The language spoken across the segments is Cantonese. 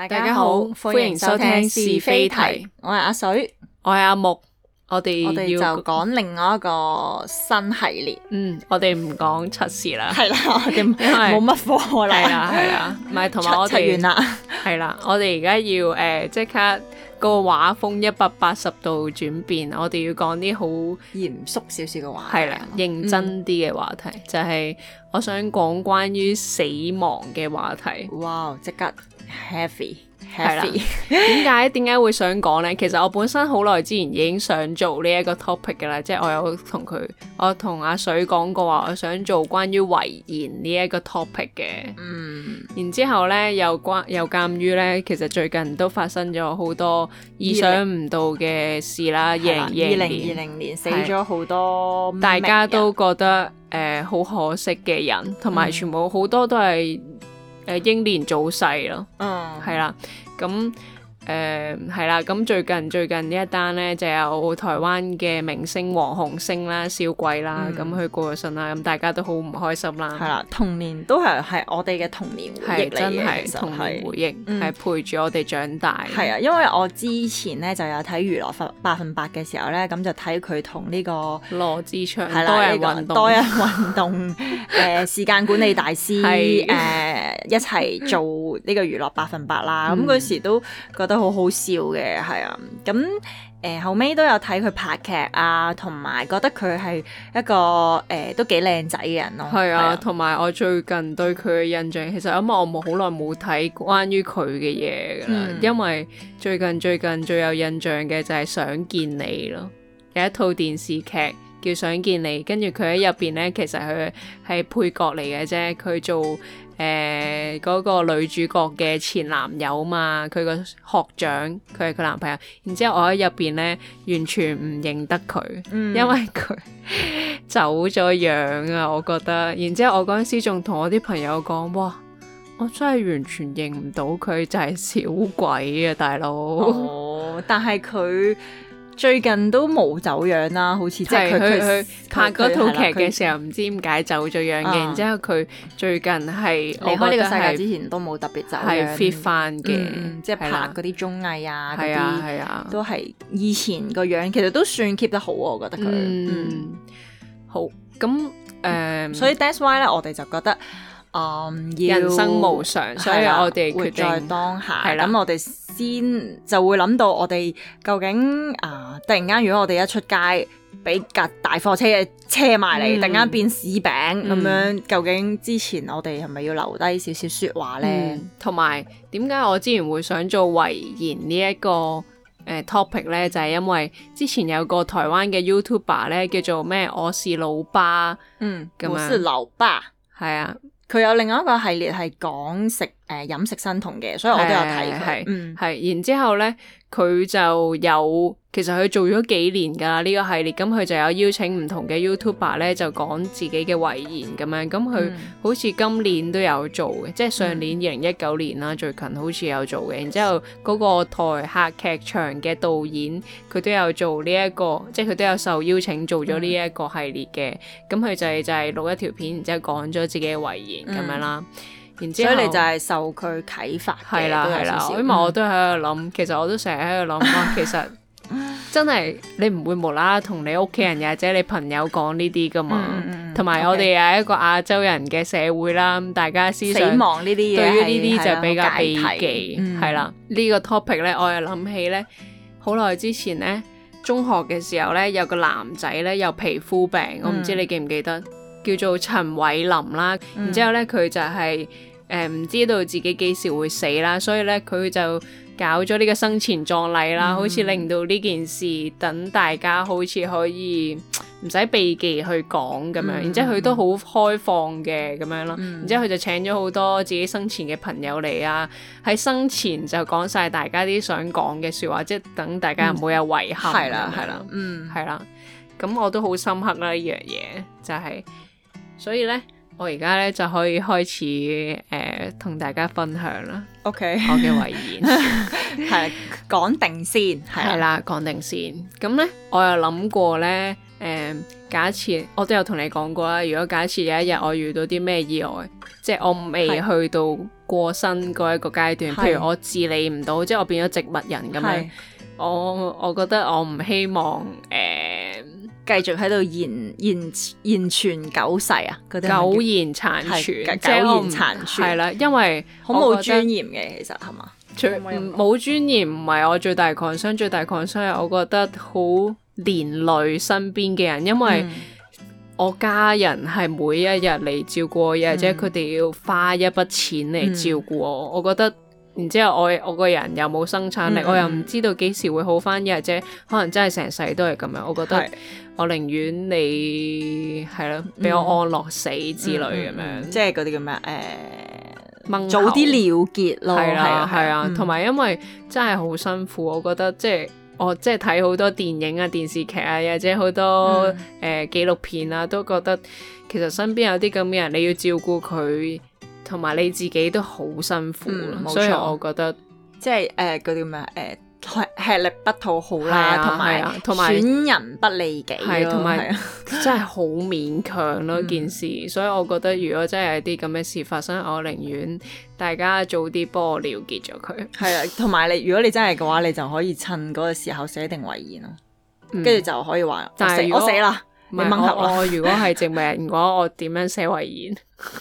大家好，歡迎收聽是非題。 我係阿水， 我係阿木，我哋就要講另外一個新系列。 我哋唔講測試啦， 係啦，我哋冇乜課啦， 係啦，唔係同埋我哋測完啦， 係啦，我哋而家要即刻個畫風180度轉變，我哋要講啲好嚴肅少少嘅話題， 係啦，認真啲嘅話題，就係我想講關於死亡嘅話題。 哇，即刻 heavy。 係啦，點解會想講呢？其實我本身好耐之前已經想做呢一個 topic 㗎啦，即係我同阿水講過話，我想做關於遺言呢一個 topic 嘅。然之後呢，又鑑於呢，其實最近都發生咗好多意想唔到嘅事啦。2020年死咗好多， 大家都覺得好可惜嘅人，同埋全部好多都係英年早逝咯。係啦。咁係啦，咁最近呢一單咧，就有台灣嘅明星黃鴻升啦、少貴啦，咁佢過咗身啦，咁大家都好唔開心啦。係啦，童年都係我哋嘅童年回憶嚟嘅， 真係童年回憶，係陪住我哋長大。 係啊，因為我之前咧就有睇娛樂100%嘅時候咧，咁就睇佢同呢個羅志祥多人運動時間管理大師一齊做呢個娛樂100%啦。咁嗰時都覺得好好笑嘅，係啊，咁後尾都有睇佢拍劇啊，同埋覺得佢係一個都幾靚仔嘅人咯。 係啊，同埋我最近對佢嘅印象，其實因為我好耐冇睇關於佢嘅嘢㗎啦，因為最近最有印象嘅就係想見你咯，有一套電視劇叫想見你，跟住佢喺入邊咧，其實佢係配角嚟嘅啫，佢做嗰個女主角嘅前男友嘛，佢個學長，佢係佢男朋友。然之後我喺入邊咧，完全唔認得佢，因為佢走咗樣啊，我覺得。然之後我嗰陣時仲同我啲朋友講，哇，我真係完全認唔到佢，就係小鬼啊，大佬。 但係佢最近都冇走樣啦，好似即係佢拍嗰套劇嘅時候，唔知點解走咗樣嘅。然之後佢最近係離開呢個世界之前都冇特別走樣， 係 fit 翻嘅， 即係拍嗰啲綜藝啊， 係啊， 都係以前個樣，其實都算 keep 得好，我覺得佢。 好咁所以 that's why 咧，我哋就覺得人生無常，所以我哋決定活在當下。咁我哋先就會諗到我哋究竟突然間如果我哋一出街俾架大貨車嘅車埋嚟，突然間變柿餅咁樣，究竟之前我哋係咪要留低少少說話呢？ 同埋點解我之前會想做遺言呢一個topic 呢？就係因為之前有個台灣嘅 YouTuber 呢，叫做咩我是老爸， 我是老爸， 係啊。 佢有另外一個系列係講飲食生酮嘅，所以我都有睇佢。 係，然之後咧，佢就有其實佢做咗幾年㗎啦呢個系列，咁佢就有邀請唔同嘅 YouTuber 咧，就講自己嘅遺言咁樣。咁佢好似今年都有做嘅，即係上年2019年啦，最近好似有做嘅。然之後嗰個台客劇場嘅導演，佢都有做呢一個，即係佢都有受邀請做咗呢一個系列嘅。咁佢就係錄一條片，然之後講咗自己嘅遺言咁樣啦。然之後所以你就係受佢啟發嘅， 係啦，因為我都喺度諗，其實我都成日喺度諗話，其實真係你唔會無啦啦同你屋企人或者你朋友講呢啲噶嘛，同埋我哋係一個亞洲人嘅社會啦，大家思想死亡呢啲嘢， 對於呢啲就比較避忌，係啦。呢個 topic 咧，我又諗起咧，好耐之前咧，中學嘅時候咧，有個男仔咧有皮膚病，我唔知你記唔記得，叫做陳偉林啦。然之後咧，佢就係唔知道自己幾時會死啦，所以咧佢就搞咗呢個生前葬禮啦，好似令到呢件事等大家好似可以唔使避忌去講咁樣。然之後佢都好開放嘅咁樣咯。然之後佢就請咗好多自己生前嘅朋友嚟啊，喺生前就講晒大家啲想講嘅說話，即係等大家唔會有遺憾。係啦，係啦，咁我都好深刻啦呢樣嘢，就係所以咧。我而家咧就可以開始同大家分享啦。 OK， 我嘅遺言係講定先， 係啦，講定先。咁咧，我有諗過咧， 假設我都有同你講過啦，如果假設有一日我遇到啲咩意外，即係我未去到過身嗰一個階段，譬如我自理唔到，即係我變咗植物人咁樣，我覺得我唔希望繼續喺度言傳久世啊，嗰啲苟延殘喘， 苟延殘喘係啦，因為好冇尊嚴嘅，其實係嘛？ 冇尊嚴唔係我最大 concern， 最大 concern 係我覺得好連累身邊嘅人，因為我家人係每一日嚟照顧我，或者佢哋要花一筆錢嚟照顧我，我覺得。然之後我個人又冇生產力，我又唔知道幾時會好翻，或者可能真係成世都係咁樣。我覺得我寧願你係咯，俾我安樂死之類咁樣， 即係嗰啲叫咩？早啲了結咯，係啊，同埋因為真係好辛苦，我覺得即係我即係睇好多電影啊、電視劇啊，或者好多紀錄片啊，都覺得其實身邊有啲咁嘅人，你要照顧佢。同埋你自己都好辛苦，所以我覺得即係嗰啲咩吃力不討好啦，同埋損人不利己咯， 同埋真係好勉強咯件事。所以我覺得如果真係有啲咁嘅事發生，我寧願大家早啲幫我了結咗佢。係啊， 同埋如果你真係嘅話，你就可以趁嗰個時候寫定遺言咯，跟住就可以話我死啦，你掹合啦。 我如果係植物人嘅話，我點樣寫遺言？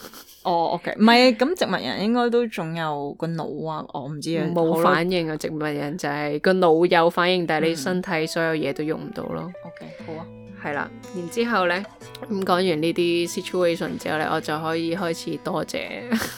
OK， 唔係咁植物人應該都仲有個腦啊，我唔知啊， 冇反應啊，植物人就係個腦有反應，但係你身體所有嘢都用唔到咯。 OK， 好啊， 係啦，然之後咧咁講完呢啲 situation 之後咧，我就可以開始多謝。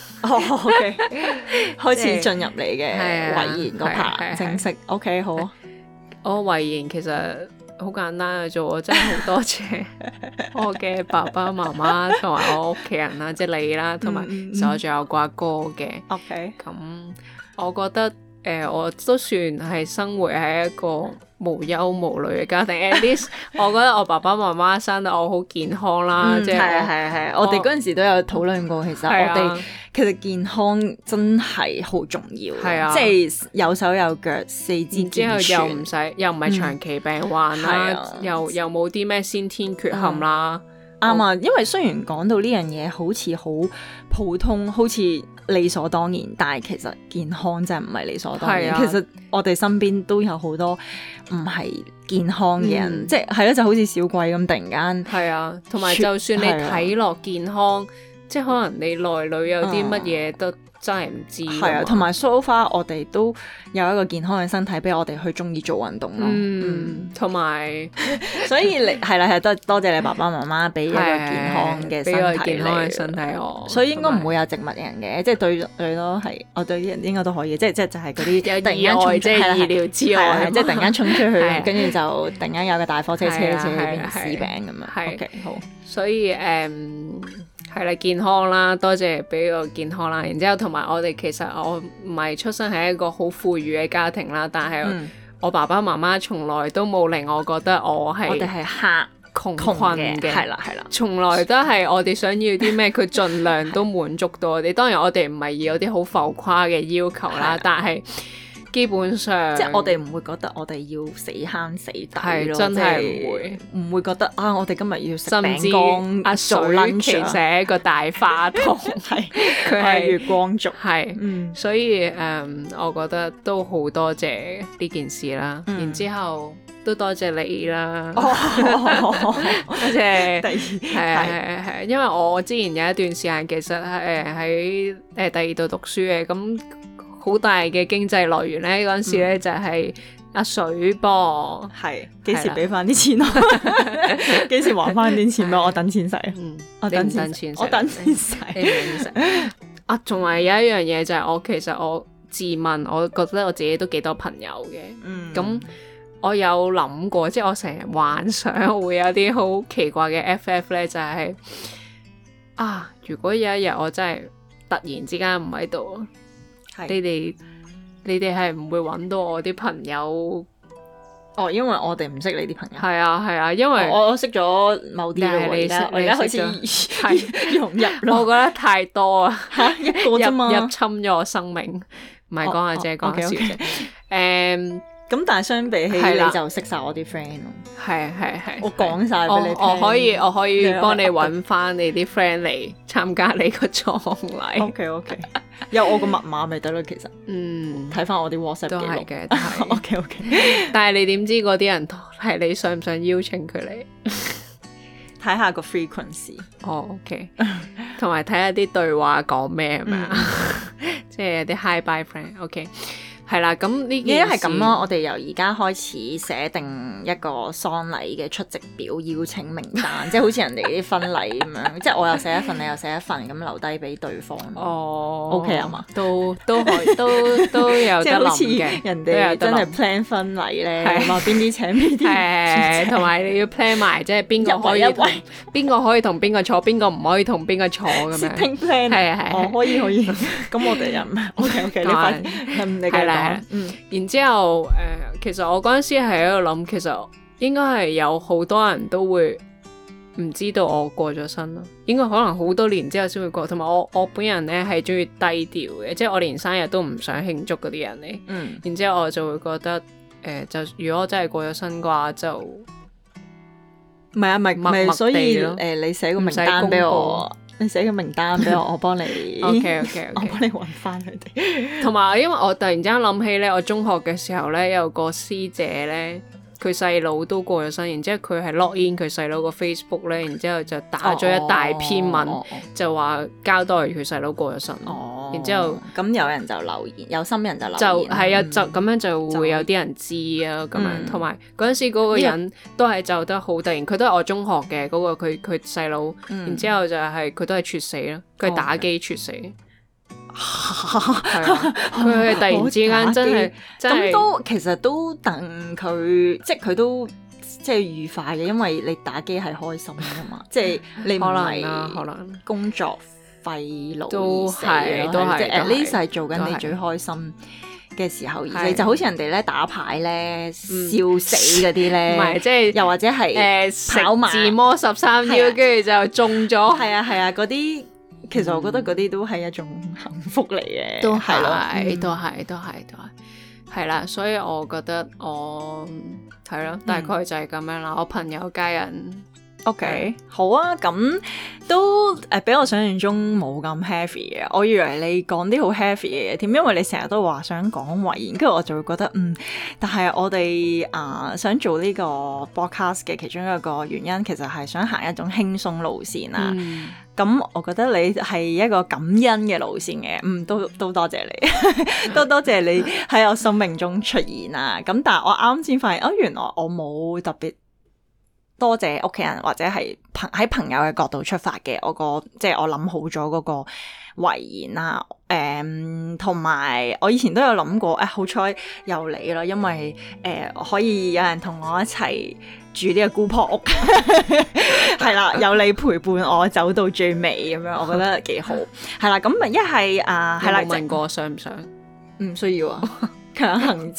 OK， 開始進入你嘅遺言嗰 part 正式。OK， 好啊， 我遺言其實好簡單嘅啫，我真係好多謝我嘅爸爸媽媽同埋我屋企人啦，即係你啦，同埋其實我仲有個阿哥嘅。 OK， 咁我覺得我都算係生活喺一個無憂無慮嘅家庭。At least 我覺得我爸爸媽媽生得我好健康啦，即係係我哋嗰陣時都有討論過，其實我哋其實健康真係好重要，即係有手有腳，四肢健全， 之後又唔係長期病患啦，又冇啲咩先天缺陷啦。 啱啊，因為雖然講到呢樣嘢好似好普通，好似理所當然，但係其實健康真係唔係理所當然。其實我哋身邊都有好多唔係健康嘅人，即係咯，就好似小鬼咁突然間。係啊， 同埋就算你睇落健康，即係可能你內裏有啲乜嘢都真係唔知。係啊， 同埋 so far 我哋都有一個健康嘅身體，俾我哋去中意做運動咯。 同埋所以你係啦，係多謝你爸爸媽媽俾一個健康嘅身體我，所以應該唔會有植物人嘅，即係對咯，係我對啲人應該都可以，即係就係嗰啲突然間衝出， 係意料之外， 即係突然間衝出去，跟住就突然間有個大貨車車去變成屎餅咁樣。OK， 好， 所以係啦，健康啦，多謝俾個健康啦。然之後同埋我哋其實我唔係出生喺一個好富裕嘅家庭啦，但係我爸爸媽媽從來都冇令我覺得我哋係窮困嘅， 係啦， 從來都係我哋想要啲咩，佢盡量都滿足到我哋。當然我哋唔係有啲好浮誇嘅要求啦，但係基本上即係我哋唔會覺得我哋要死慳死抵咯， 真係唔會覺得啊！我哋今日要食餅乾，阿水其實係一個大花筒，佢係月光族， 所以我覺得都好多謝呢件事啦。然之後都多謝你啦，多謝係，因為我之前有一段時間其實喺第二度讀書嘅，咁好大嘅經濟來源咧，嗰陣時咧就係阿水噃， 幾時俾翻啲錢我？幾時還翻啲錢俾我？等錢使，我等錢使。 啊，仲係有一樣嘢就係其實我自問，我覺得我自己都幾多朋友嘅，咁我有諗過，即係我成日幻想會有啲好奇怪嘅 FF 咧，就係如果有一日我真係突然之間唔喺度。你哋係唔會揾到我啲朋友？ 因為我哋唔識你啲朋友。 係啊，因為我識咗某啲咯。我而家開始融入咯。 我覺得太多啊！ 一個啫嘛， 入侵咗我生命。唔係講下啫，講下笑啫。 咁但係相比起你就識晒我啲 friend 咯。 係， 我講晒俾你聽。 我可以幫你揾翻你啲 friend 嚟參加你個葬禮。 OK， 有我個密碼咪得咯，其實。睇翻我啲 WhatsApp 都係嘅，都係。 OK。 但係你點知嗰啲人係你想唔想邀請佢嚟？ 睇下個 frequency。 OK。同埋睇下啲對話講咩係咪啊？即係啲 hi bye friend。OK。係啦，咁呢件事係咁咯。 我哋由而家開始寫定一個喪禮嘅出席表邀請名單，即係好似人哋啲婚禮咁樣，即係我又寫一份，你又寫一份，咁留低俾對方。OK 啊嘛， 都可以，都有得諗嘅。 人哋真係 plan 婚禮咧，話邊啲請邊啲， 同埋你要 plan 埋，即係邊個可以同邊個坐，邊個唔可以同邊個坐咁樣。 Setting plan 係可以。咁我哋人 OK， 你快你繼續。 然之後其實我嗰陣時係喺度諗，其實應該係有好多人都會唔知道我過咗身咯，應該可能好多年之後先會過。同埋我本人咧係中意低調嘅，即係我連生日都唔想慶祝嗰啲人嚟。然之後我就會覺得就如果我真係過咗身嘅話，就唔係所以你寫個名單俾我。你寫個名單俾我，我幫你。 OK， 我幫你揾翻佢哋。 同埋，因為我突然之間諗起咧，我中學嘅時候咧，有個師姐咧，佢細佬都過咗身，然之後佢係 log in 佢細佬個 Facebook 咧，然之後就打咗一大篇文，就話交代佢細佬過咗身。然之後咁有人就留言，有心人就留言。 就係啊，就咁樣就會有啲人知啊，咁樣。同埋嗰陣時嗰個人都係走得好突然，佢都係我中學嘅嗰個佢細佬，然之後就係佢都係猝死咯，佢係打機猝死。係啊，佢係突然之間真係咁都其實都等佢，即係佢都即係愉快嘅，因為你打機係開心㗎嘛，即係你唔係可能工作費勞都係即係 at least 係做緊你最開心嘅時候，而就好似人哋咧打牌咧笑死嗰啲咧， 唔係即係又或者係跑馬自摸13腰，跟住就中咗。 係啊，嗰啲。其實我覺得嗰啲都係一種幸福嚟嘅， 都係啦，所以我覺得我係咯，大概就係咁樣啦。我朋友家人 OK 好啊，咁都比我想象中冇咁 heavy 嘅。我以為你講啲好 heavy 嘅嘢添，因為你成日都話想講遺言，跟住我就會覺得但係我哋想做呢個 podcast 嘅其中一個原因，其實係想行一種輕鬆路線啊。咁我覺得你係一個感恩嘅路線嘅，都多謝你，都多謝你喺我生命中出現啊！咁但係我啱先發現，原來我冇特別多謝屋企人或者係喺朋友嘅角度出發嘅，即係我諗好咗嗰個遺言啦。同埋我以前都有諗過，好彩有你咯，因為可以有人同我一齊住呢個姑婆屋，係啦，有你陪伴我走到最尾咁樣，我覺得幾好。係啦，咁咪一係係啦， 問過想唔想？ 唔需要啊，強行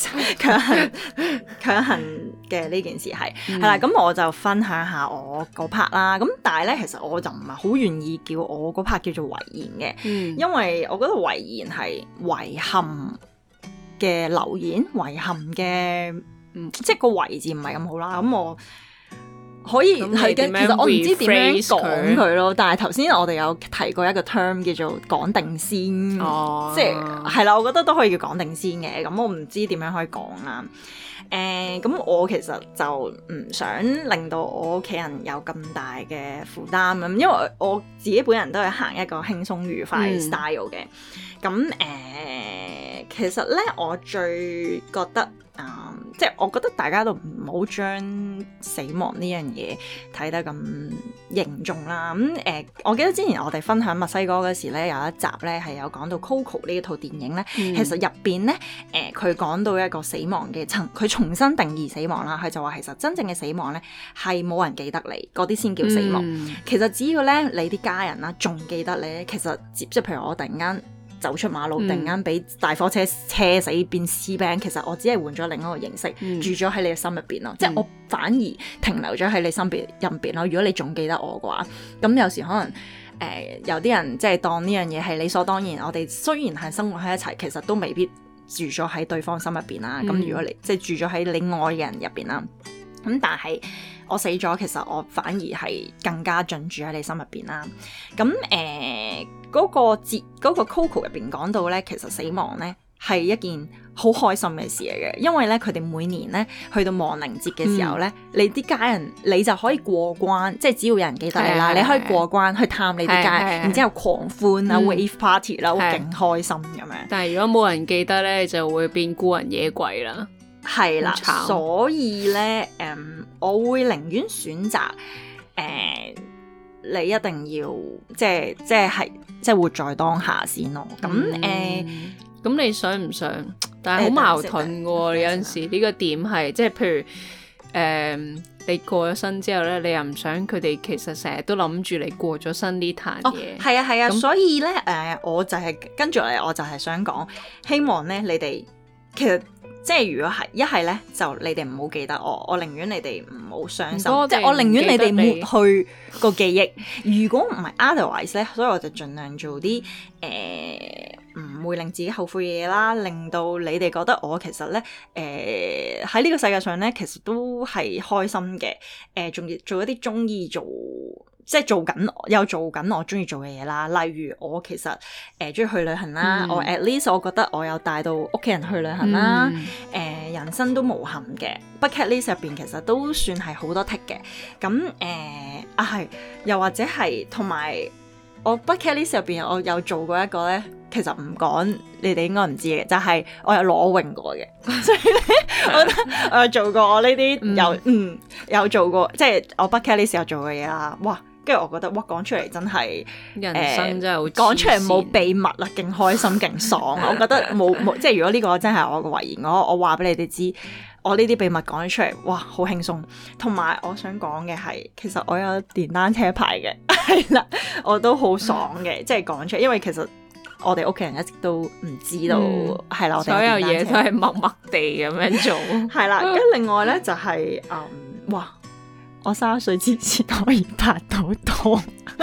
嘅呢件事係啦。咁我就分享下我嗰 part 啦。咁但係咧，其實我就唔係好願意叫我嗰 part 叫做遺言嘅，因為我覺得遺言係遺憾嘅留言，遺憾嘅。即係個遺字唔係咁好啦，咁我可以係嘅。其實我唔知點樣講佢咯，但係頭先我哋有提過一個 term 叫做講定先，即係啦，我覺得都可以叫講定先嘅。咁我唔知點樣可以講啦。咁我其實就唔想令到我屋企人有咁大嘅負擔咁，因為我自己本人都係行一個輕鬆愉快 style 嘅。咁其實咧，我最覺得即係我覺得大家都唔好將死亡呢樣嘢睇得咁凝重啦。我記得之前我哋分享墨西哥嗰時咧，有一集咧係有講到 Coco 呢一套電影咧，其實入邊咧佢講到一個死亡嘅佢重新定義死亡啦。佢就話其實真正嘅死亡咧係冇人記得你，嗰啲先叫死亡。其實只要咧你啲家人啦仲記得你，其實即係譬如我突然間走出馬路，突然間俾大貨車車死變屍餅，其實我只係換咗另一個形式，住咗喺你嘅心入邊咯。即係我反而停留咗喺你心入邊咯。如果你仲記得我嘅話，咁有時可能有啲人即係當呢樣嘢係理所當然。我哋雖然係生活喺一齊，其實都未必住咗喺對方心入邊啦。咁如果你即係住咗喺你愛嘅人入邊啦，咁但係我死咗，其實我反而係更加進駐喺你心入邊啦。咁嗰個 Coco 入邊講到咧，其實死亡咧係一件好開心嘅事嚟嘅，因為咧佢哋每年咧去到亡靈節嘅時候咧，你啲家人你就可以過關，即係只要有人記得你啦，你可以過關去探你啲家人，然之後狂歡啦、wave party 啦，好勁開心咁樣。 但係如果冇人記得咧，就會變孤魂野鬼啦。 係啦，所以咧，我會寧願選擇你一定要即係活在當下先咯。咁你想唔想？但係好矛盾嘅喎，有陣時呢個點係即係譬如你過咗身之後咧，你又唔想佢哋其實成日都諗住你過咗身呢壇嘢。 係啊，所以咧我就係跟住嚟，我就係想講，希望咧你哋其實。即係如果係一係咧，就你哋唔好記得我寧願你哋唔好傷心，即係我寧願你哋抹去個記憶。如果唔係 otherwise 咧，所以我就盡量做啲唔會令自己後悔嘅嘢啦，令到你哋覺得我其實咧喺呢個世界上咧，其實都係開心嘅。仲要做一啲中意做。即係做緊我中意做嘅嘢啦，例如我其實中意去旅行啦，我 at least 我覺得我有帶到屋企人去旅行啦，人生都無憾嘅 bucket list 入邊其實都算係好多 tick 嘅，咁係又或者係同埋我 bucket list 入邊我有做過一個咧，其實唔講你哋應該唔知嘅，就係我有裸泳過嘅，所以咧我覺得我有做過我呢啲有做過，即係我 bucket list 有做過嘢啦，哇！跟住我覺得，哇！講出嚟真係人生真係好講出嚟冇秘密啦，勁開心勁爽。我覺得冇即係如果呢個真係我嘅遺言，我話俾你哋知，我呢啲秘密講咗出嚟，哇！好輕鬆。同埋我想講嘅係，其實我有電單車牌嘅，係啦，我都好爽嘅，即係講出嚟，因為其實我哋屋企人一直都唔知道，係啦，我哋所有嘢都係默默地咁樣做， 係啦。跟另外咧就係哇！我30歲之前可以拍到拖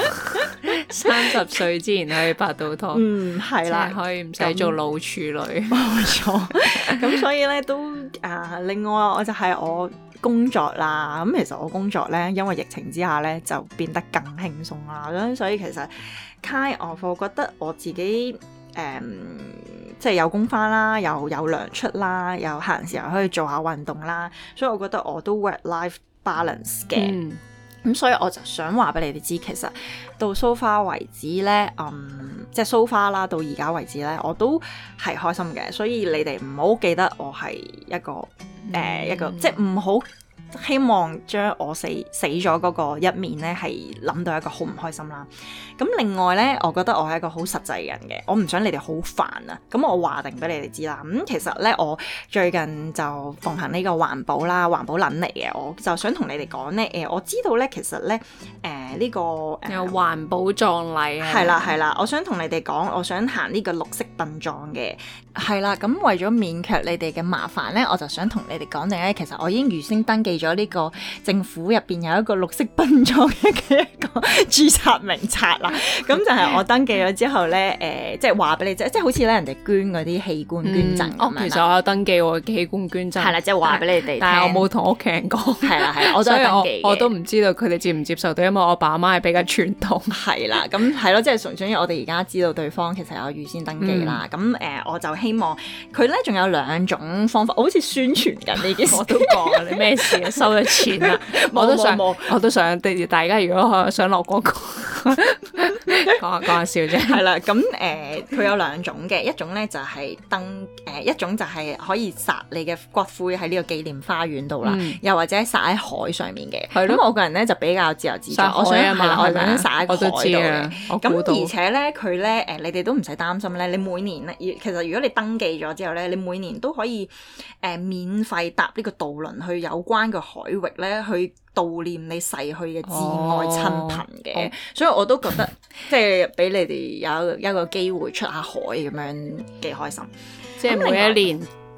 ，30歲之前可以拍到拖， 係啦， 可以唔使做老處女， 冇錯。咁所以咧都另外我就係我工作啦。咁其實我工作咧，因為疫情之下咧就變得更輕鬆啦。咁所以其實 kind of 我覺得我自己即係有工返啦，又有糧出啦，又閒時候可以做下運動啦。所以我覺得我都 work life balance 嘅，咁所以我就想話俾你哋知，其實到 so far 為止咧，即係 so far 啦，到而家為止咧，我都係開心嘅，所以你哋唔好記得我係一個即係唔好希望將我死咗嗰個一面咧，係諗到一個好唔開心啦。咁另外咧，我覺得我係一個好實際嘅人嘅，我唔想你哋好煩啊。咁我話定俾你哋知啦。其實咧，我最近就奉行呢個環保啦，環保撚嚟嘅，我就想同你哋講咧，我知道咧，其實咧，呢個有環保葬禮啊， 係啦，我想同你哋講，我想行呢個綠色殯葬嘅，係啦。咁為咗免卻你哋嘅麻煩咧，我就想同你哋講定咧，其實我已經預先登記咗呢個政府入邊有一個綠色殯葬嘅一個註冊名冊啦。咁就係我登記咗之後咧，即係話俾你知，即係好似咧人哋捐嗰啲器官捐贈咁樣。 其實我有登記我器官捐贈， 係啦，即係話俾你哋， 但係我冇同屋企人講。 係啦，我都有登記嘅。 我都唔知道佢哋接唔接受到，因為我爸媽係比較傳統。 係啦，咁係咯，即係純粹我哋而家知道對方其實有預先登記啦。咁我就希望佢咧仲有2種方法，我好似宣傳緊呢件事。 我都講你咩事啊？收咗錢啦，我都想，大家如果想落廣告，講下笑啫。係啦，咁佢有2種嘅，一種咧就係一種就係可以撒你嘅骨灰喺呢個紀念花園度啦，又或者撒喺海上面嘅。咁我個人咧就比較自由自在，我想撒喺海度嘅。咁而且咧佢咧你哋都唔使擔心咧，你每年咧其實如果你登記咗之後咧，你每年都可以免費搭呢個渡輪去有關嘅海域咧去悼念你逝去嘅至愛親朋嘅，所以我都覺得即係俾你哋有一個機會出下海咁樣幾開心。即係每一年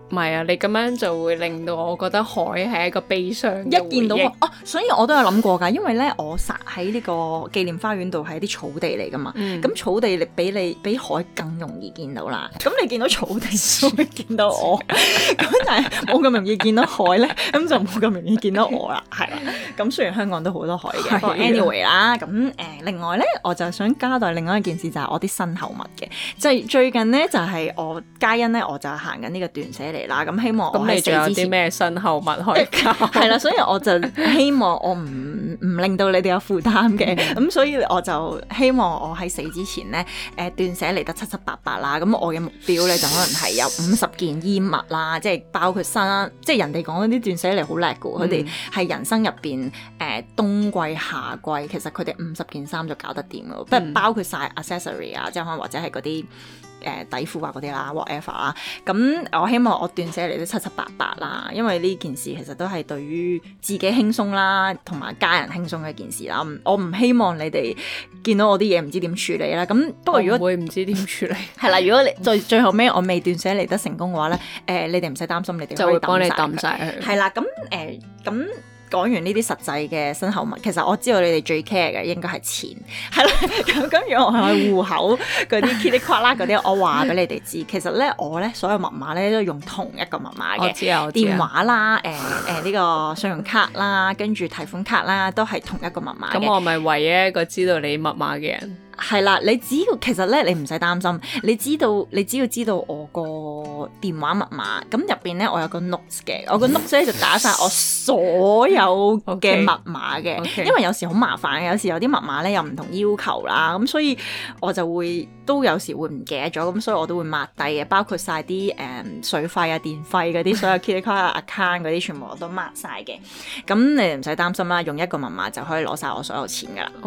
唔係啊，你咁樣就會令到我覺得海係一個悲傷嘅回憶。 一見到哦，所以我都有諗過㗎，因為咧我實喺呢個紀念花園度係啲草地嚟㗎嘛，咁草地你比海更容易見到啦。咁你見到草地就會見到我，咁但係冇咁容易見到海咧，咁就冇咁容易見到我啦，係啦。咁雖然香港都好多海嘅，不過 anyway 啦，咁另外咧我就想交代另外一件事就係我啲身後物嘅，即係最近咧就係我嘉欣咧我就行緊呢個斷捨離啦，咁希望我喺死之前， 咁你仲有啲咩身後物可以交？ 係啦，所以我就希望我唔令到你哋有負擔嘅，咁所以我就希望我喺死之前咧，斷捨離得七七八八啦。咁我嘅目標咧就可能係有50件衣物啦，即係包括即係人哋講嗰啲斷捨離好叻㗎，佢哋係人生入邊冬季夏季，其實佢哋50件衫就搞得掂㗎，不過包括晒 accessory 啊，即係可能或者係嗰啲底褲啊嗰啲啦 whatever 啦。咁我希望我斷捨離得七七八八啦，因為呢件事其實都係對於自己輕鬆啦，同埋家人輕鬆嘅一件事啦。我唔希望你哋見到我啲嘢唔知點處理啦。咁不過如果會唔知點處理係啦，如果你最後尾我未斷捨離得成功嘅話咧，你哋唔使擔心，你哋就會幫你抌晒佢。 係啦，咁講完呢啲實際嘅身後物，其實我知道你哋最 care 嘅應該係錢，係啦。咁如果我係戶口嗰啲 kitty 卡啦嗰啲，我話俾你哋知，其實咧我咧所有密碼咧都用同一個密碼嘅。 我知啊， 電話啦，呢個信用卡啦，跟住提款卡啦，都係同一個密碼嘅。 咁我咪唯一一個知道你密碼嘅人。 係啦，你只要其實咧，你唔使擔心，你只要知道我個電話密碼，咁入邊咧我有個 notes 嘅，我個 notes 咧就打晒我所有嘅密碼嘅，因為有時好麻煩嘅，有時有啲密碼咧有唔同要求啦，咁所以我就都有時會唔記得咗，咁所以我都會抹低嘅，包括晒啲水費啊、電費嗰啲，所有 credit card account 嗰啲全部我都抹晒嘅，咁你哋唔使擔心啦，用一個密碼就可以攞晒我所有錢噶啦。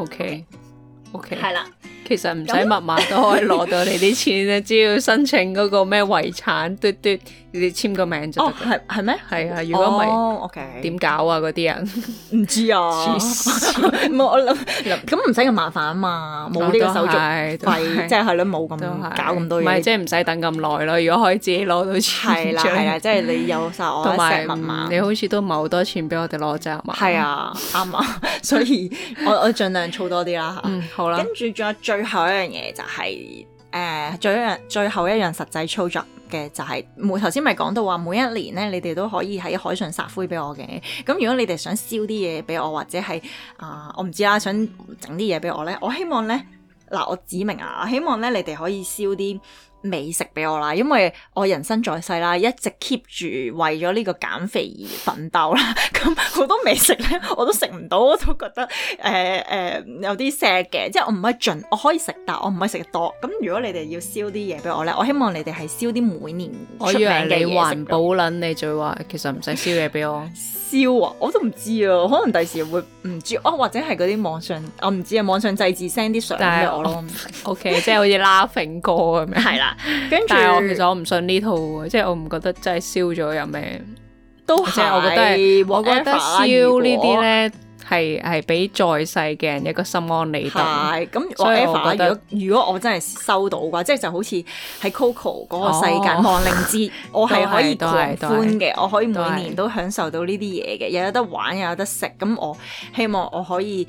OK， 係啦， 其實唔使密碼都可以攞到你啲錢咧，只要申請嗰個咩遺產嘟，你哋簽個名就得。 哦，係咩？ 係啊，如果唔係點搞啊？嗰啲人唔知啊，冇我諗咁唔使咁麻煩啊嘛，冇呢個手續費，即係係咯，冇咁搞咁多嘢。 唔係即係唔使等咁耐咯。如果可以自己攞到錢， 係啦，即係你有晒我嘅密碼， 你好似都唔係好多錢俾我哋攞啫嘛。 係啊，啱啊，所以我盡量儲多啲啦嚇。 好啦， 跟住仲有最後一樣嘢就係最後一樣實際操作嘅就係頭先咪講到話每一年咧，你哋都可以喺海上撒灰俾我嘅。咁如果你哋想燒啲嘢俾我，或者係我唔知啦，想整啲嘢俾我咧，我希望咧我指明啊，我希望咧你哋可以燒啲美食俾我啦，因為我人生在世啦，一直 keep 住為咗呢個減肥而奮鬥啦。咁好多美食咧，我都食唔到，我都覺得有啲 sad 嘅。即係我唔可以盡，我可以食，但我唔可以食得多。咁如果你哋要燒啲嘢俾我咧，我希望你哋係燒啲每年出名嘅嘢食。我以為你環保撚，你就話其實唔使燒嘢俾我。燒啊！我都唔知啊，可能第時會唔知或者係嗰啲網上，我唔知啊，網上祭祀 send 啲相俾我咯。OK， 即係好似 Laughing 哥咁樣。 係啦。跟住， 但係其實我唔信呢套嘅，即係我唔覺得真係燒咗有咩， 都係。我覺得燒呢啲咧係俾在世嘅人一個心安理得。 係咁，所以我覺得如果我真係收到嘅話，即係就好似喺 Coco 嗰個世界亡靈節，我係可以狂歡嘅，我可以每年都享受到呢啲嘢嘅，又有得玩又有得食。咁我希望我可以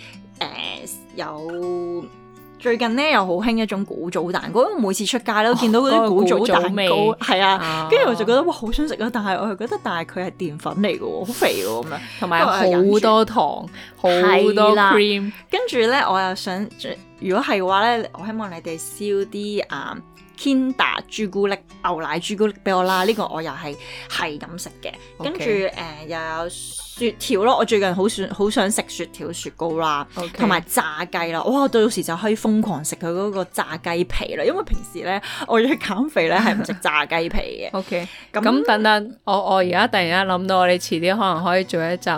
有。最近咧又好興一種古早蛋糕，因為每次出街都見到嗰啲古早蛋糕，係啊，跟住我就覺得哇好想食啊！但係我又覺得，但係佢係澱粉嚟嘅喎，好肥喎咁樣， 同埋好多糖，好多 cream。 跟住咧，我又想，如果係嘅話咧，我希望你哋燒啲Kinder 朱古力、牛奶朱古力俾我啦，呢個我又係咁食嘅。跟住又有雪條咯，我最近好想食雪條雪糕啦，同埋炸雞啦。哇！到時就可以瘋狂食佢嗰個炸雞皮啦，因為平時咧我要減肥咧係唔食炸雞皮嘅。 OK，咁等等，我而家突然間諗到，我哋遲啲可能可以做一集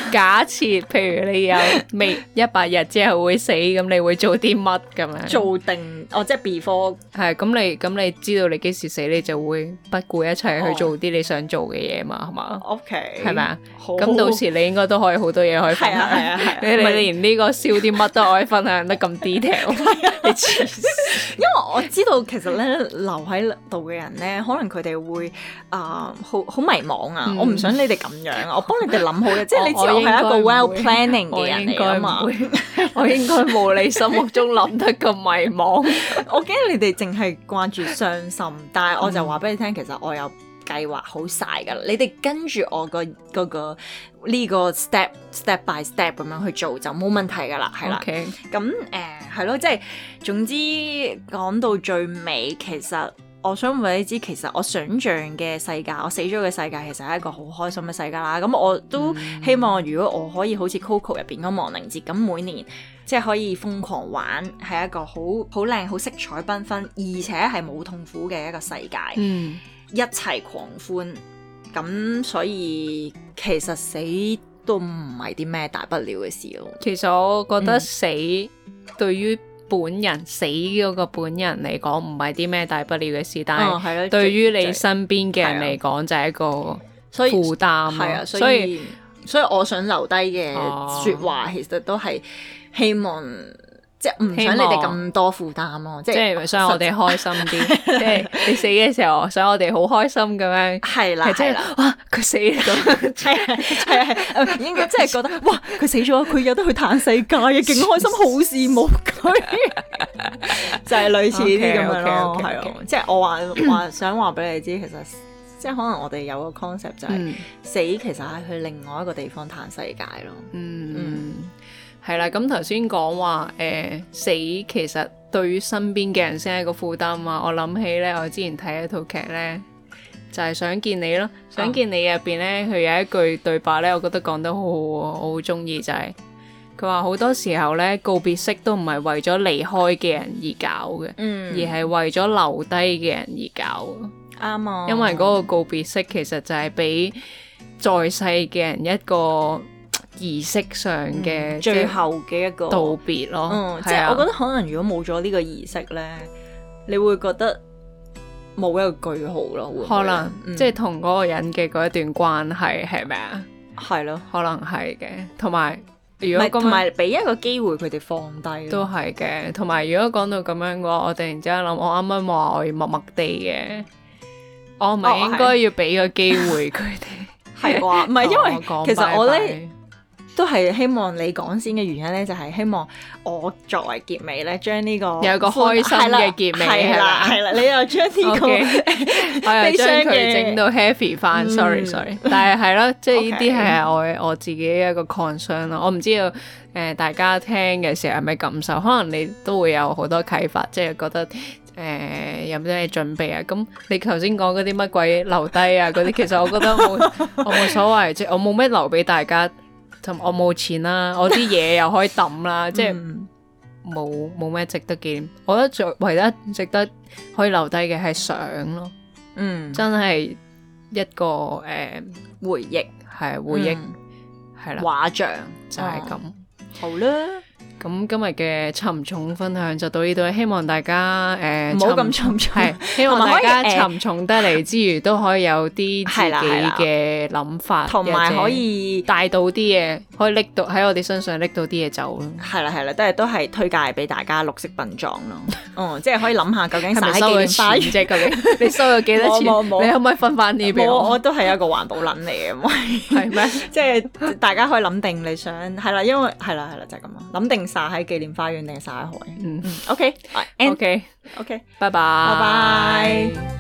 假設譬如你有未100日之後會死，咁你會做啲乜咁樣？ 做定即係 before 係咁你知道你幾時死，你就會不顧一切去做啲你想做嘅嘢嘛，係嘛 ？OK， 係咪啊？咁到時你應該都可以好多嘢可以分享。 係啊， 你連呢個燒啲乜都可以分享得咁 detail， 你黐線。 因為我知道其實咧留喺度嘅人咧，可能佢哋會好迷茫啊！我唔想你哋咁樣，我幫你哋諗好嘅，即係你知我係一個 well planning 嘅人嚟㗎嘛。 我應該冇你心目中諗得咁迷茫。 我驚你哋淨係掛住傷心，但係我就話俾你聽，其實我有計劃好晒㗎啦。你哋跟住我個呢個 step by step 咁樣去做就冇問題㗎啦，係啦。咁係咯，即係總之講到最尾，其實我想話你知，其實我想像嘅世界，我死咗嘅世界，其實係一個好開心嘅世界啦。咁我都希望，如果我可以好似 Coco 入邊嗰亡靈節咁，每年即係可以瘋狂玩，係一個好靚、好色彩繽紛，而且係冇痛苦嘅一個世界，一齊狂歡。咁所以其實死都唔係啲咩大不了嘅事咯。 其實我覺得死對於本人死嗰個本人嚟講唔係啲咩大不了嘅事，但係對於你身邊嘅人嚟講就係一個負擔。係啊，所以我想留低嘅説話其實都係希望。即係唔想你哋咁多負擔咯，即係想我哋開心啲。即係你死嘅時候，想我哋好開心咁樣。係啦，哇！佢死咁， 係應該即係覺得哇！佢死咗，佢有得去嘆世界嘅，勁開心，好羨慕佢。就係類似呢啲咁樣咯，係啊。即係我話想話俾你知，其實即係可能我哋有個 concept 就係死其實係去另外一個地方嘆世界咯。 係啦，咁頭先講話死其實對於身邊嘅人先係一個負擔啊！我諗起咧，我之前睇一套劇咧，就係想見你咯。想見你入邊咧，佢有一句對白咧，我覺得講得好好喎，我好中意，就係佢話好多時候咧，告別式都唔係為咗離開嘅人而搞嘅，而係為咗留低嘅人而搞。 啱啊！ 因為嗰個告別式其實就係俾在世嘅人一個儀式上嘅最後嘅一個道別咯， 即係我覺得可能如果冇咗呢個儀式咧，你會覺得冇一個句號咯， 可能即係同嗰個人嘅嗰一段關係係咪啊？ 係咯， 可能係嘅。同埋如果同埋俾一個機會佢哋放低都係嘅。同埋如果講到咁樣嘅話，我突然之間諗，我啱啱話我要默默地嘅，我唔係應該要俾個機會佢哋係啩？唔係因為其實我咧。都係希望你講先嘅原因咧，就係希望我作為結尾咧，將呢個有個開心嘅結尾係啦， 你又將呢個我又將佢整到 happy 翻，sorry，但係咯，即係呢啲係我自己一個 concern 咯。我唔知道大家聽嘅時候係咪感受，可能你都會有好多啟發，即係覺得有啲咩準備啊？咁你頭先講嗰啲乜鬼留低啊嗰啲，其實我覺得我冇所謂，即係我冇咩留俾大家。我冇錢啦，我啲嘢又可以抌啦，即係冇咩值得紀念。我覺得唯一值得可以留低嘅係相咯，真係一個回憶， 係回憶，係啦， 畫像就係咁。 好啦。 咁今日嘅沉重分享就到呢度，希望大家唔好咁沉重， 係希望大家沉重得嚟之餘，都可以有啲自己嘅諗法， 同埋可以帶到啲嘢，可以拎到喺我哋身上拎到啲嘢走咯。 係啦，都係推介俾大家綠色殯葬咯。即係可以諗下究竟係咪收咗錢啫？究竟你收咗幾多錢？你可唔可以分翻啲俾我？ 我都係一個環保撚嚟嘅，係咩？即係大家可以諗定你想係啦，因為係啦，就係咁咯，諗定撒喺紀念花園定係撒喺海？OK，拜拜。